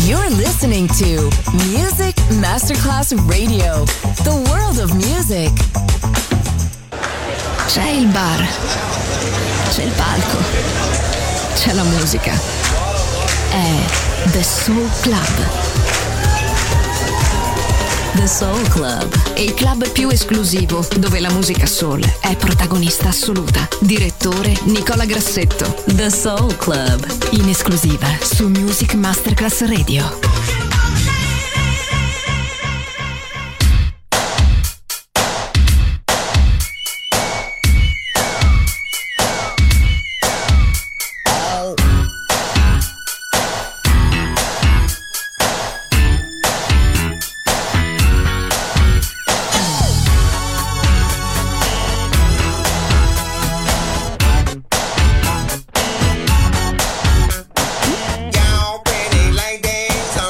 You're listening to Music Masterclass Radio, the world of music. C'è il bar, c'è il palco, c'è la musica. È The Soul Club. The Soul Club, Il club più esclusivo dove la musica soul è protagonista assoluta. Direttore Nicola Grassetto. The Soul Club, In esclusiva su Music Masterclass Radio. Y'all pretty ladies,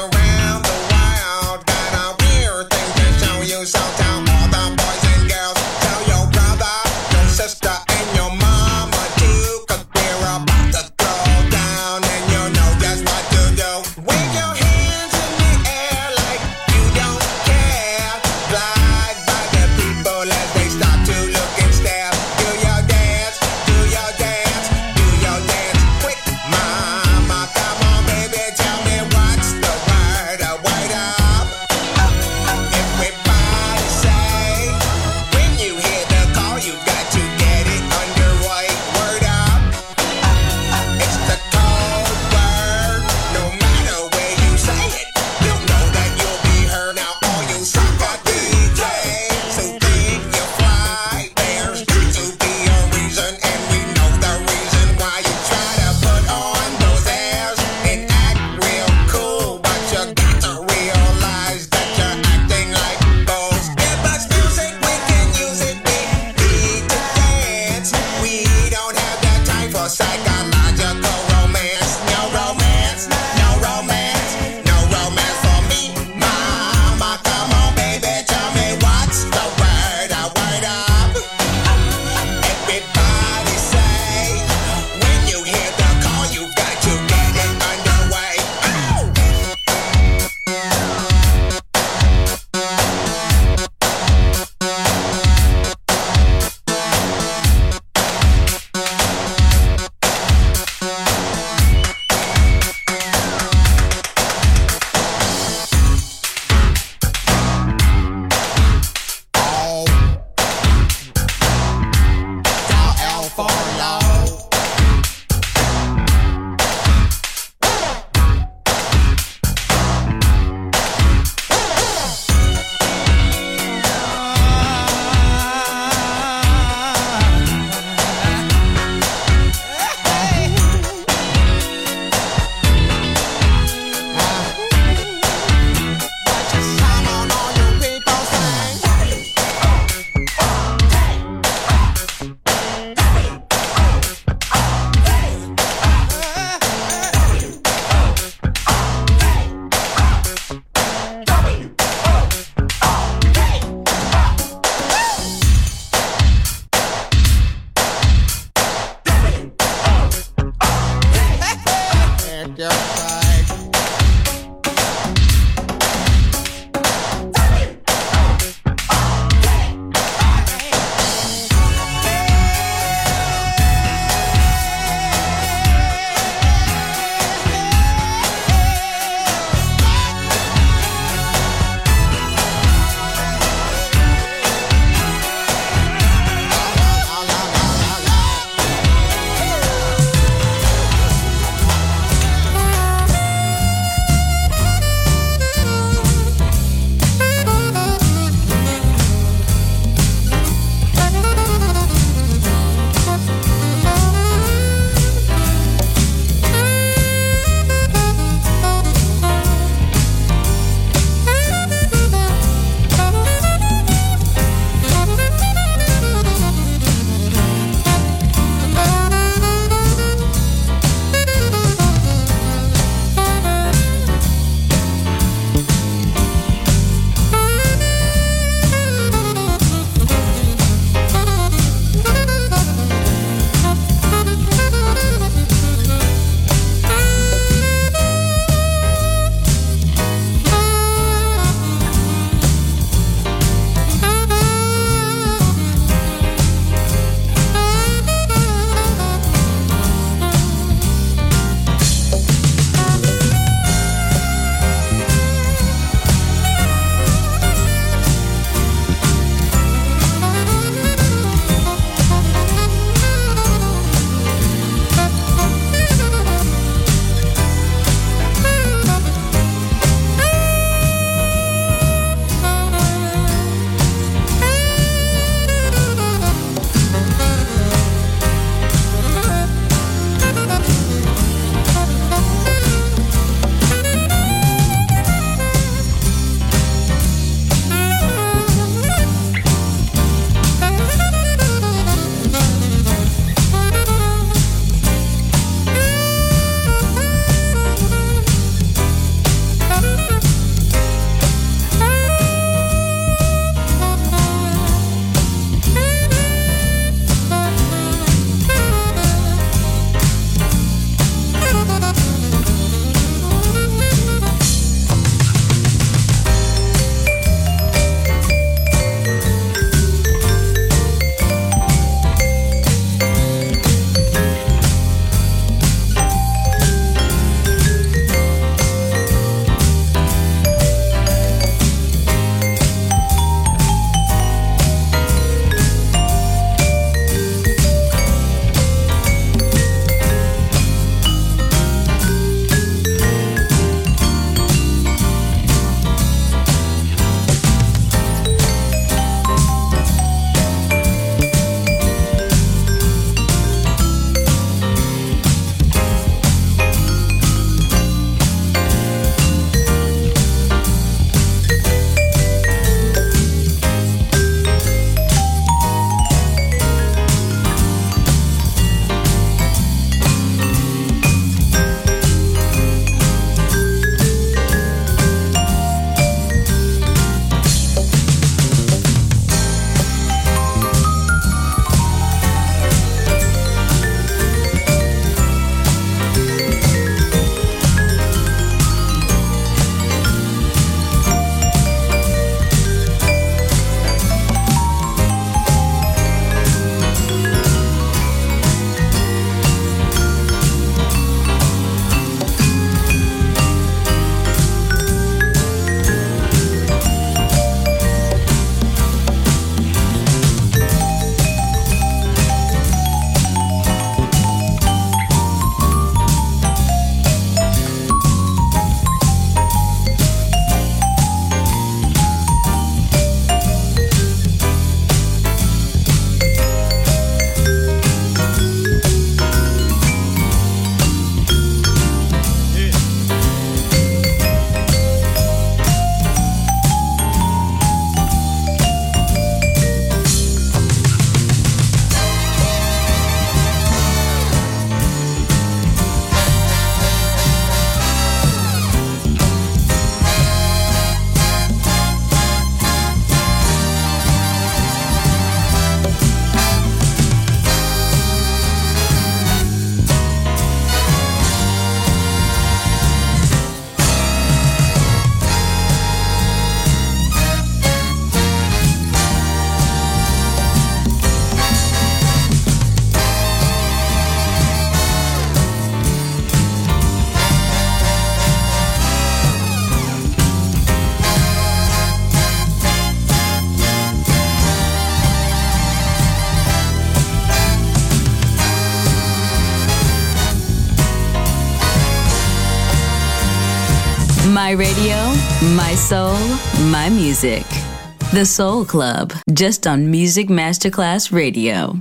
My radio, my soul, my music. The Soul Club, just on Music Masterclass Radio.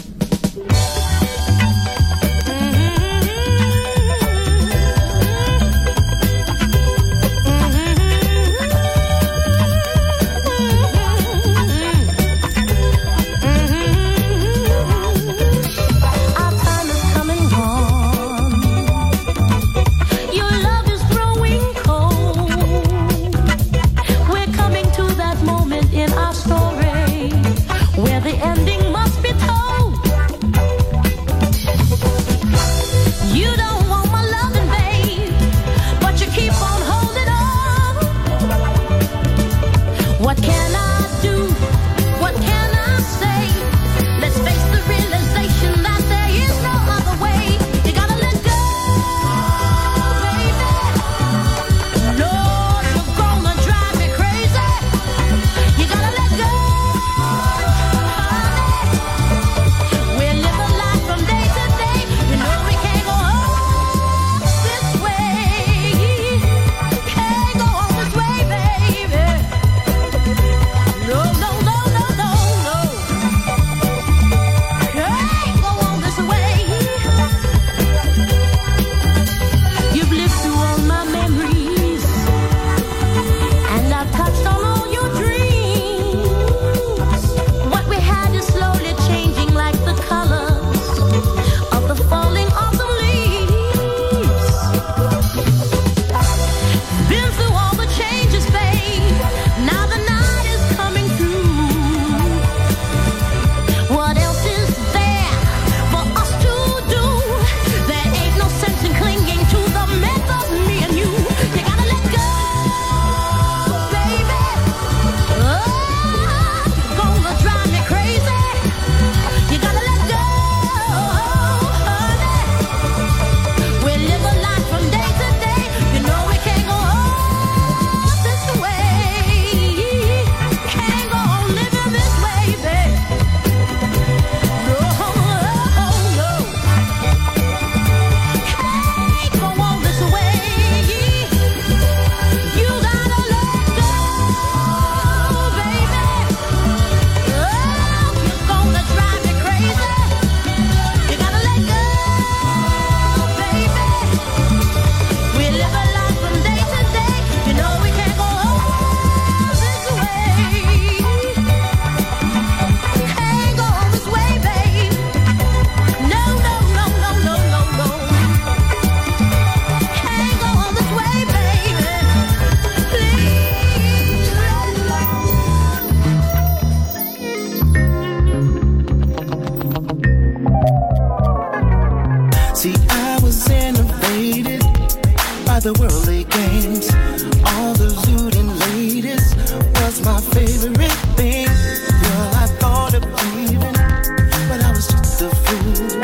The worldly games, all the looting ladies was my favorite thing. Girl, I thought of leaving, but I was just a fool.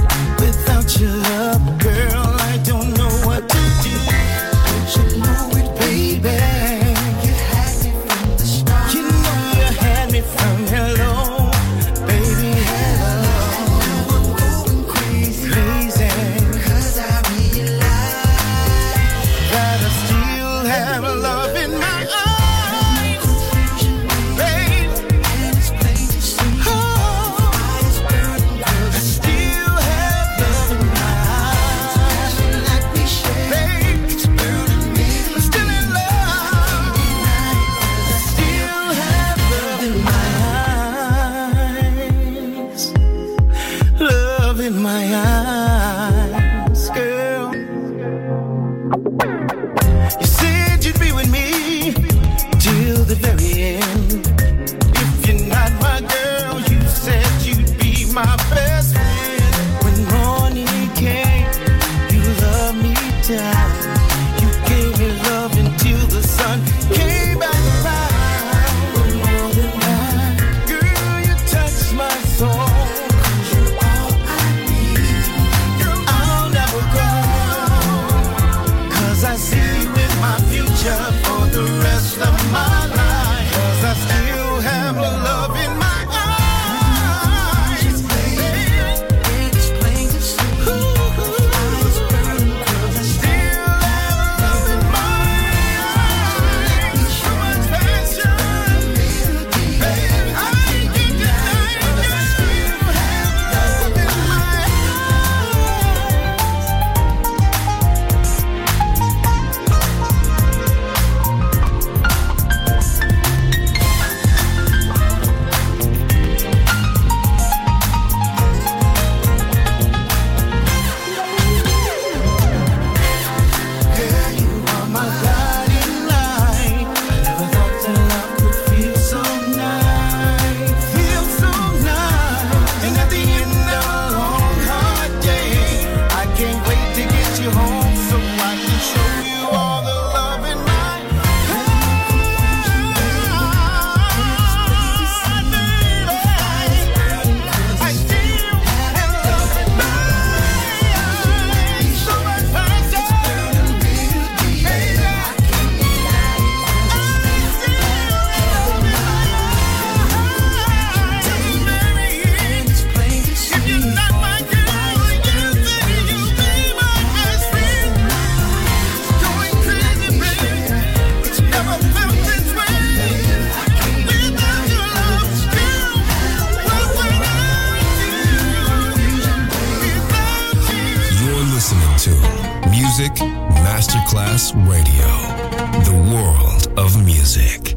Without your love, girl, I don't know what to do. Don't you know it, baby? You had me from the start. You know you had me from hello, baby, hello. I'm going crazy, crazy, 'cause I realize that I still have love in my eyes, babe. And it's plain to see. Oh, I still have love in my eyes. Like we share, babe. It's burning me. I'm still in love. I still have love in my eyes. Love in my eyes, girl. You said you'd be with me till the very end. If you're not my girl, you said you'd be my best friend. When morning came, you loved me down. You gave me love until the sun came back around. For more than that, girl, you touched my soul. 'Cause you're all I need. I'll never go, 'cause I see you in my future for the rest of my life. 'Cause I still have love in my eyes, baby. It's plain to see. Ooh, eyes burn 'cause I still have love in my eyes. Masterclass Radio, the world of music.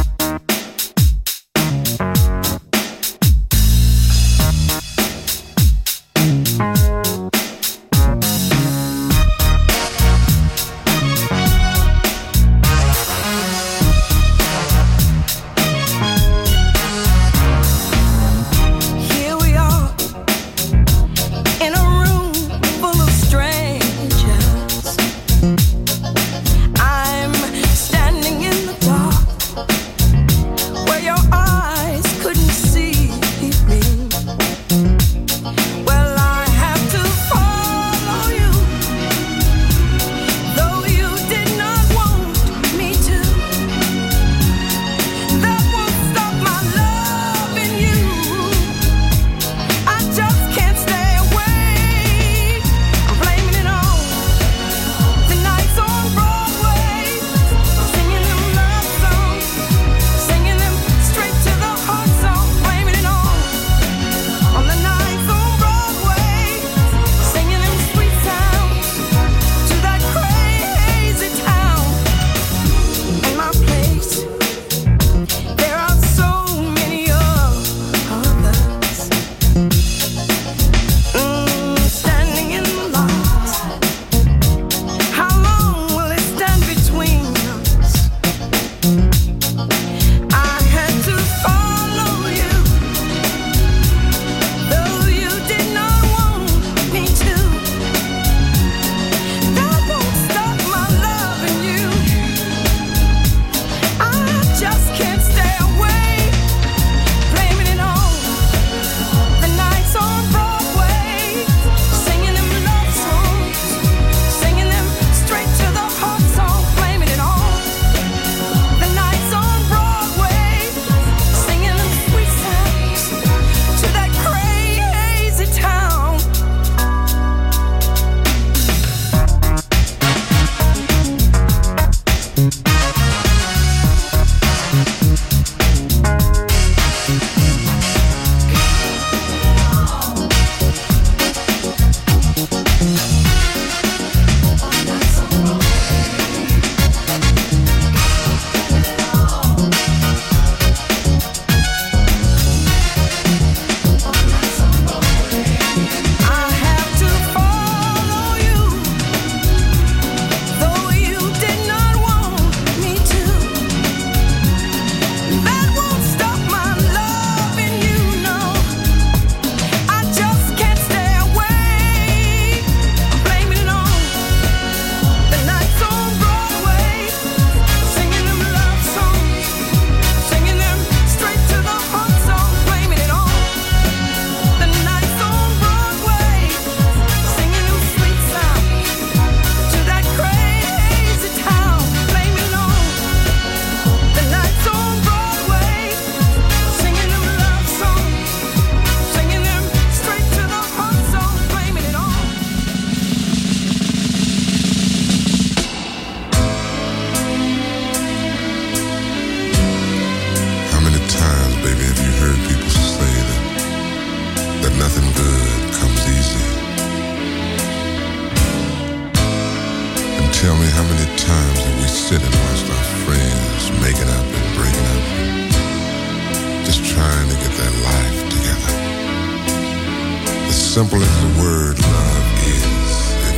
Simple as the word love is,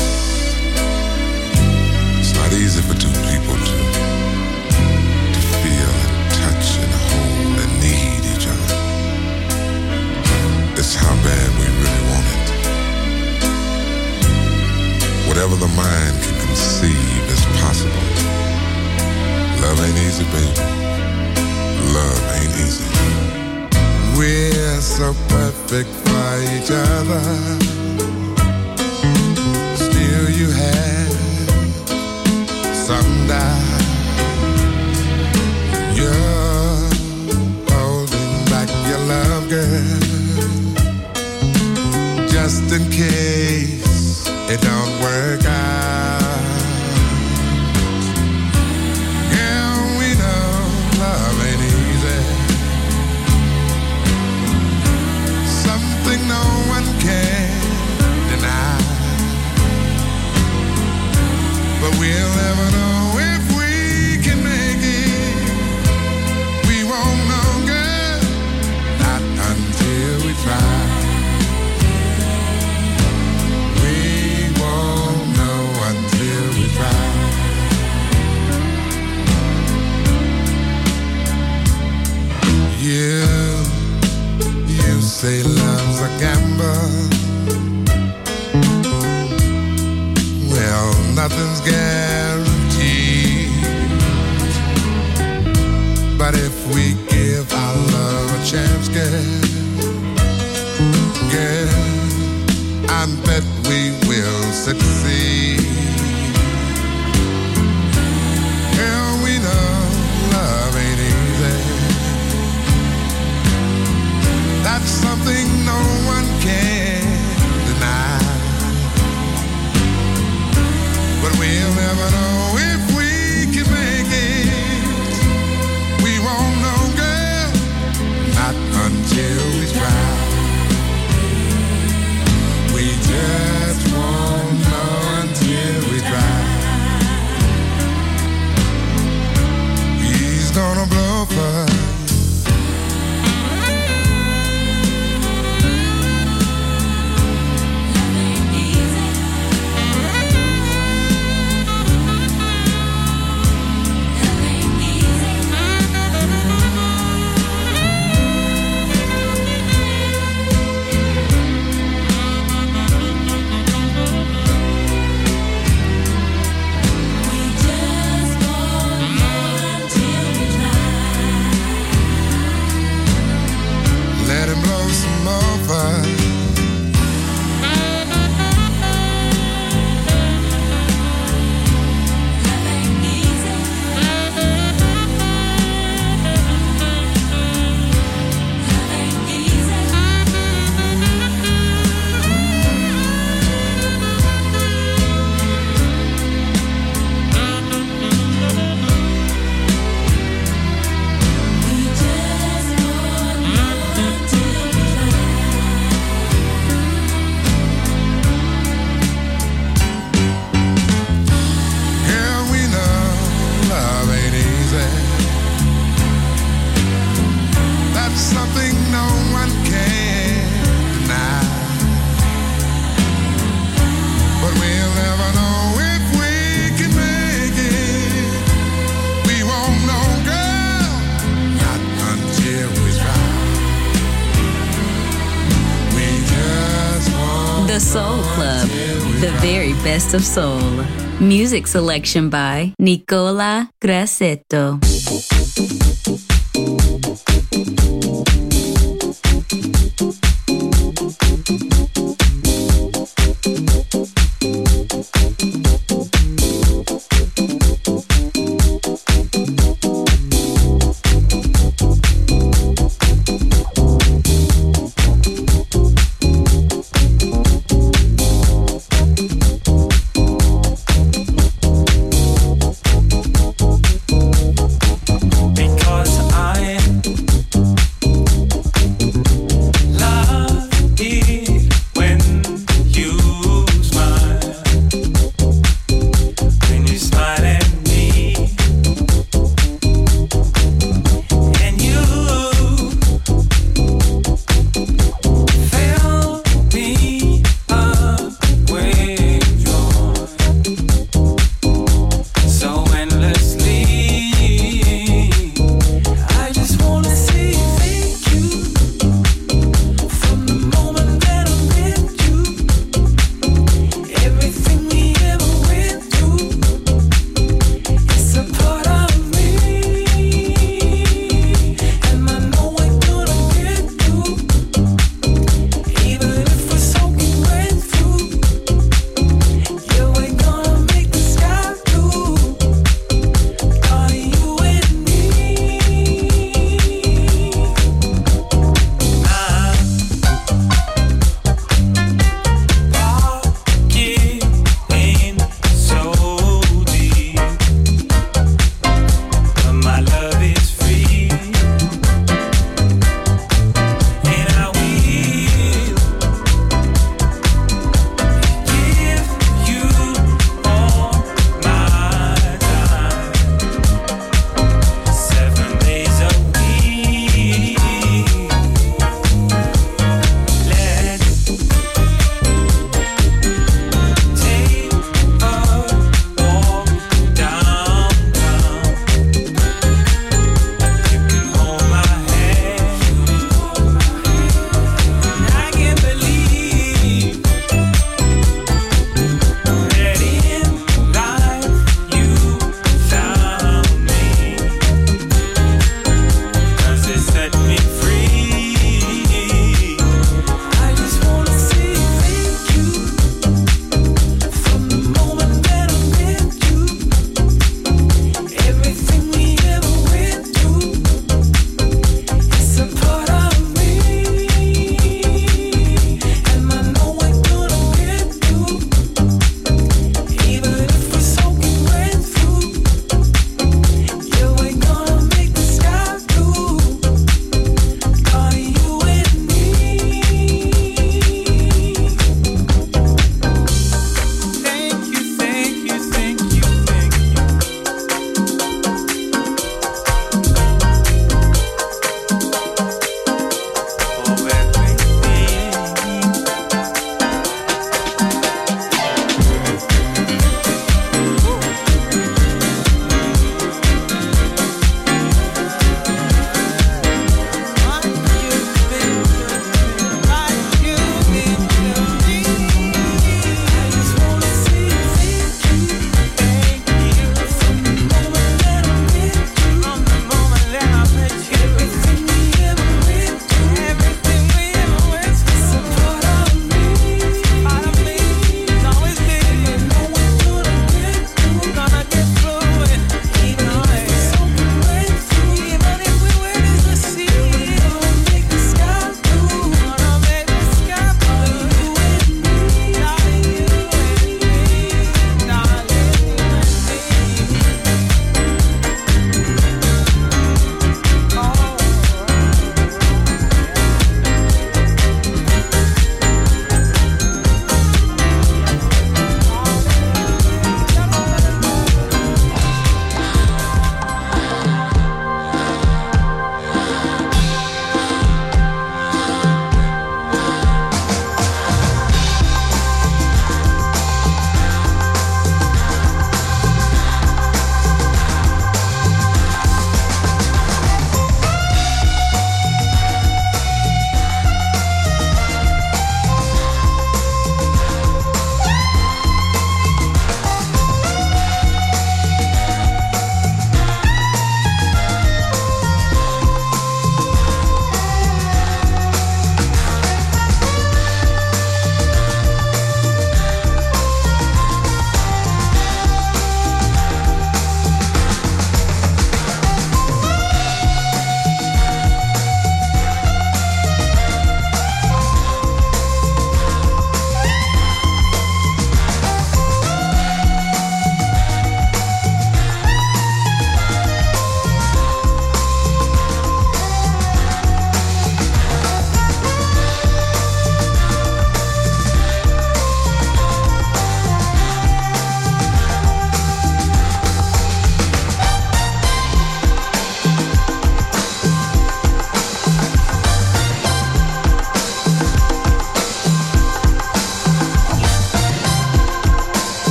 it's not easy for two people to feel and touch and hold and need each other. It's how bad we really want it. Whatever the mind can conceive is possible. Love ain't easy, baby. Love ain't easy. We're so perfect for each other. Still you have some doubt. You're holding back your love, girl, just in case it don't work out. Yeah, we know love ain't easy. Something no one can deny. But we'll never know succeed. Hell, we know love ain't easy. That's something no one can deny. But we'll never know if we can make it. We won't know, girl, not until we try. We just won't know until we try. He's gonna blow for The Soul Club, the very best of soul. Music selection by Nicola Grassetto.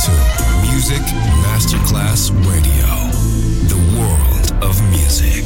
to Music Masterclass Radio, the world of music.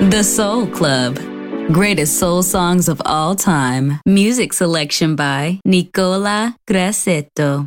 The Soul Club. Greatest soul songs of all time. Music selection by Nicola Grassetto.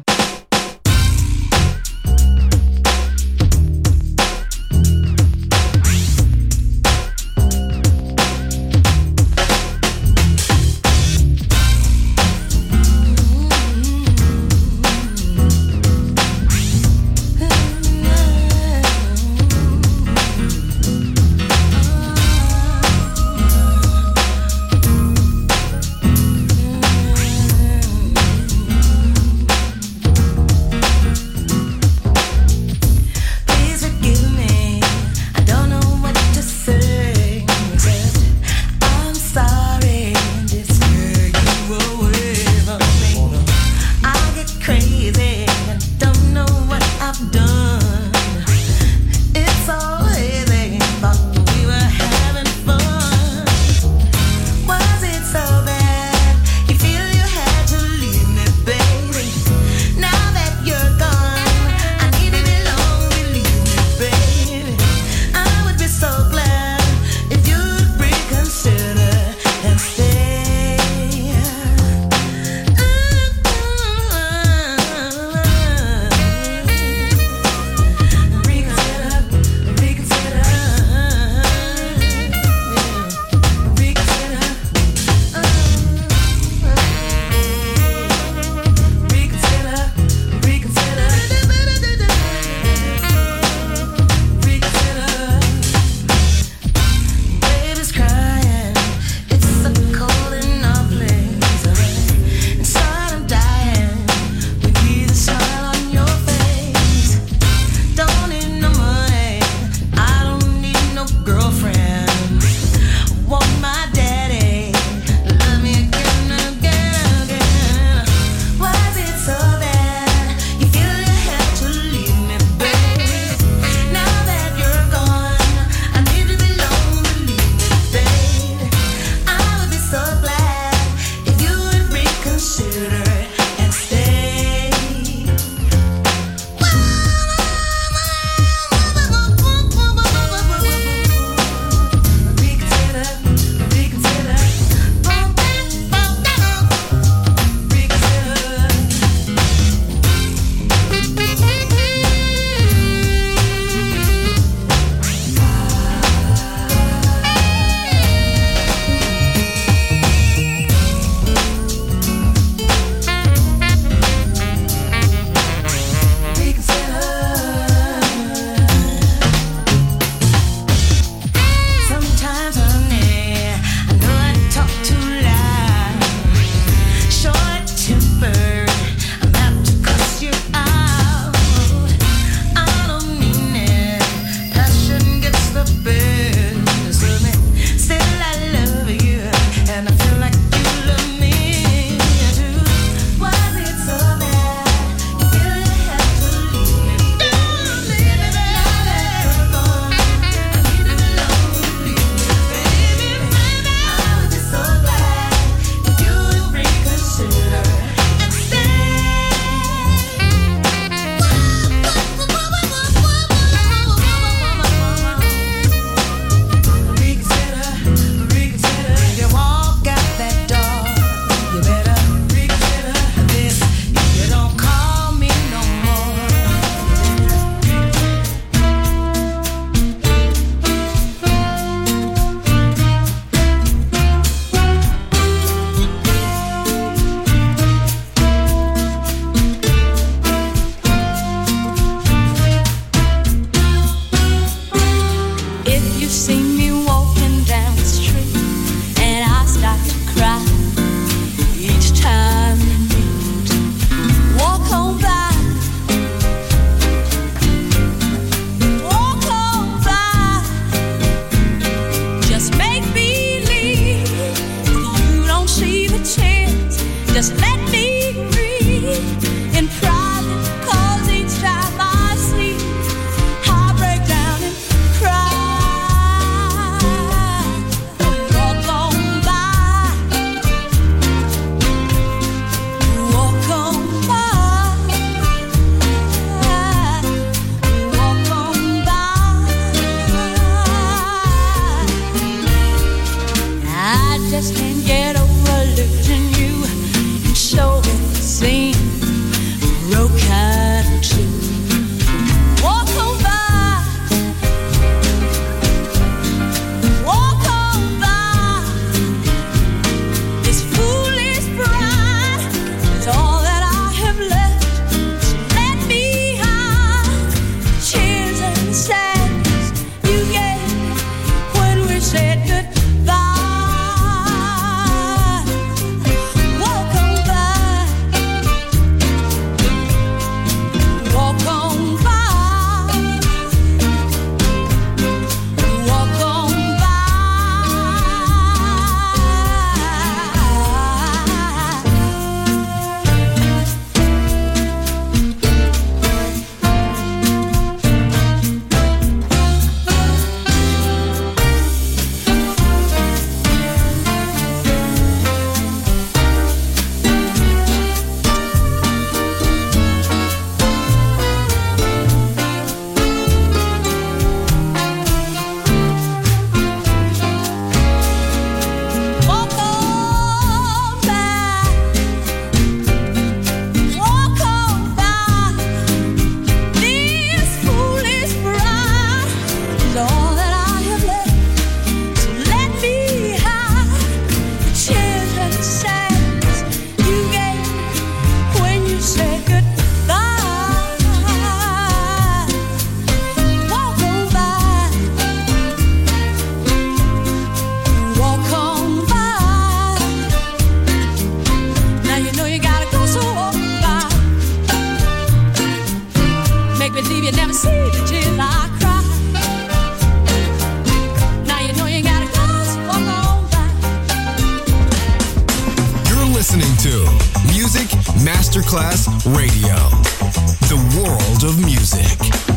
Masterclass Radio. The world of music.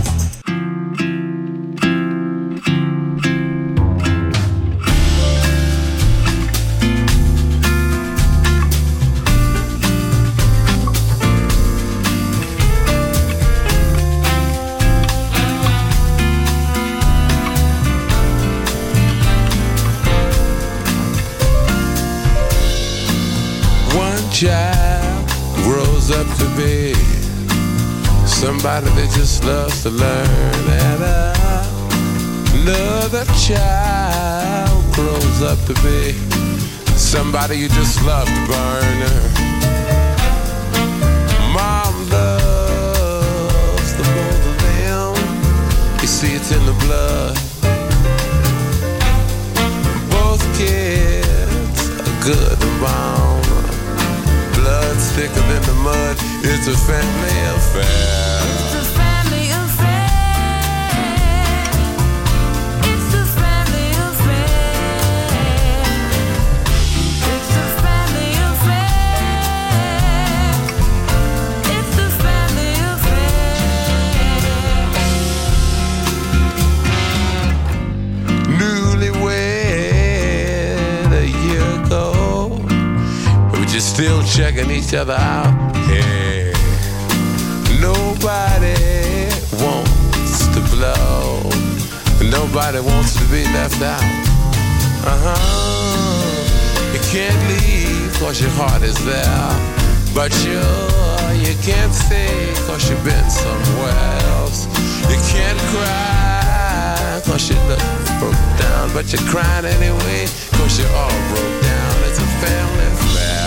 Child grows up to be somebody that just loves to learn, and another child grows up to be somebody you just love to burn. Mom loves the both of them. You see, it's in the blood. Both kids are good and bound. Blood's thicker than the mud. It's a family affair. It's a family affair. It's a family affair. It's a family affair. It's a family affair. Newlywed a year ago, you're still checking each other out. Hey, nobody wants to blow. Nobody wants to be left out. You can't leave 'cause your heart is there, but you can't stay 'cause you've been somewhere else. You can't cry 'cause you look broke down, but you're crying anyway 'cause you're all broke down. It's a family affair.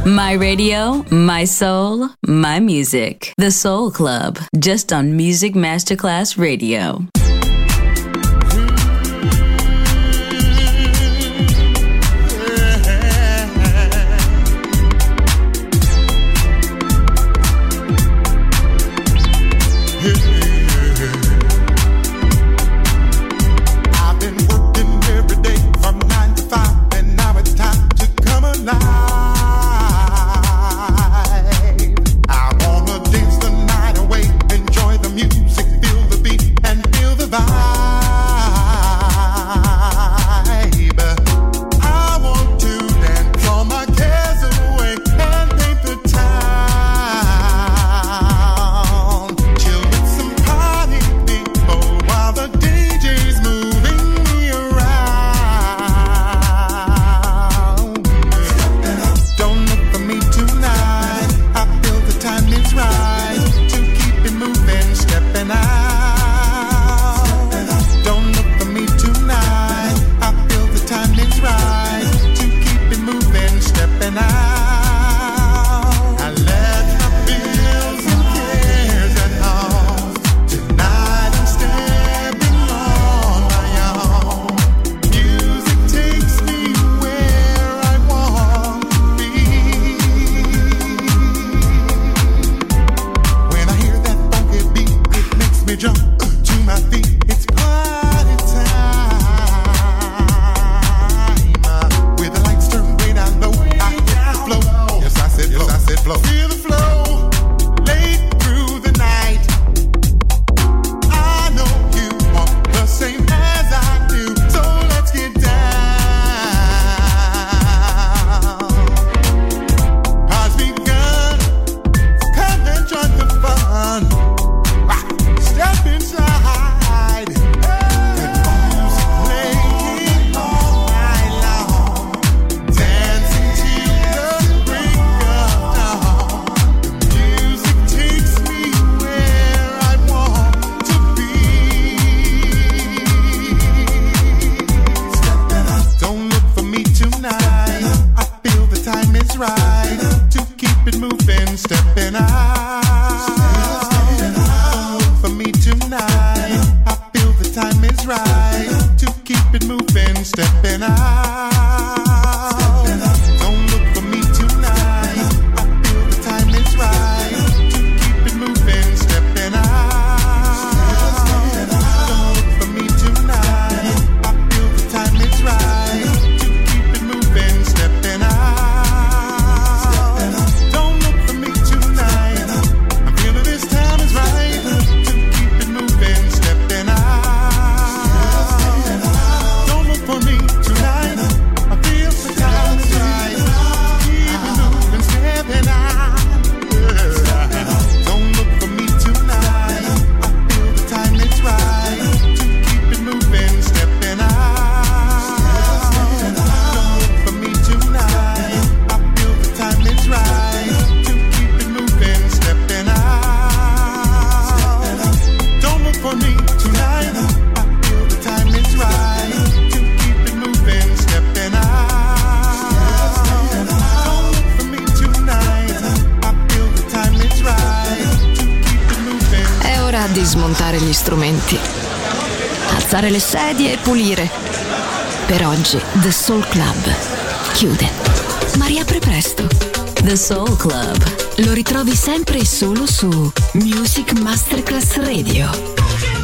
My radio, my soul, my music. The Soul Club, just on Music Masterclass Radio. Smontare gli strumenti, alzare le sedie e pulire. Per oggi The Soul Club chiude, ma riapre presto. The Soul Club lo ritrovi sempre e solo su Music Masterclass Radio.